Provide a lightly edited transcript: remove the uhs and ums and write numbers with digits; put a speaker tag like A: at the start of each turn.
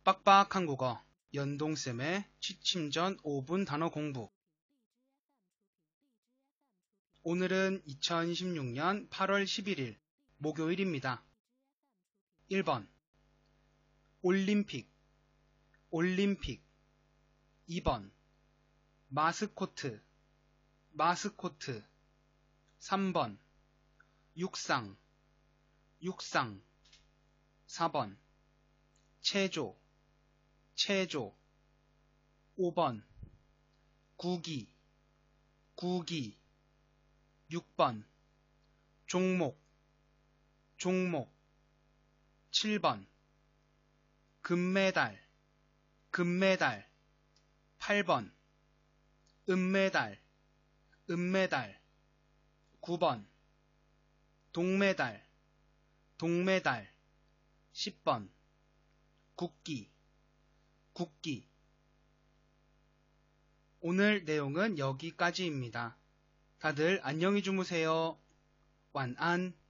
A: 빡빡한 국어 연동쌤의 취침 전 5분 단어 공부. 오늘은 2026년 8월 11일 목요일입니다. 1번 올림픽 2번 마스코트 3번 육상 4번 체조 5번 구기 6번 종목 7번 금메달 8번 은메달 9번 동메달 10번 국기. 오늘 내용은 여기까지입니다. 다들 안녕히 주무세요.晚安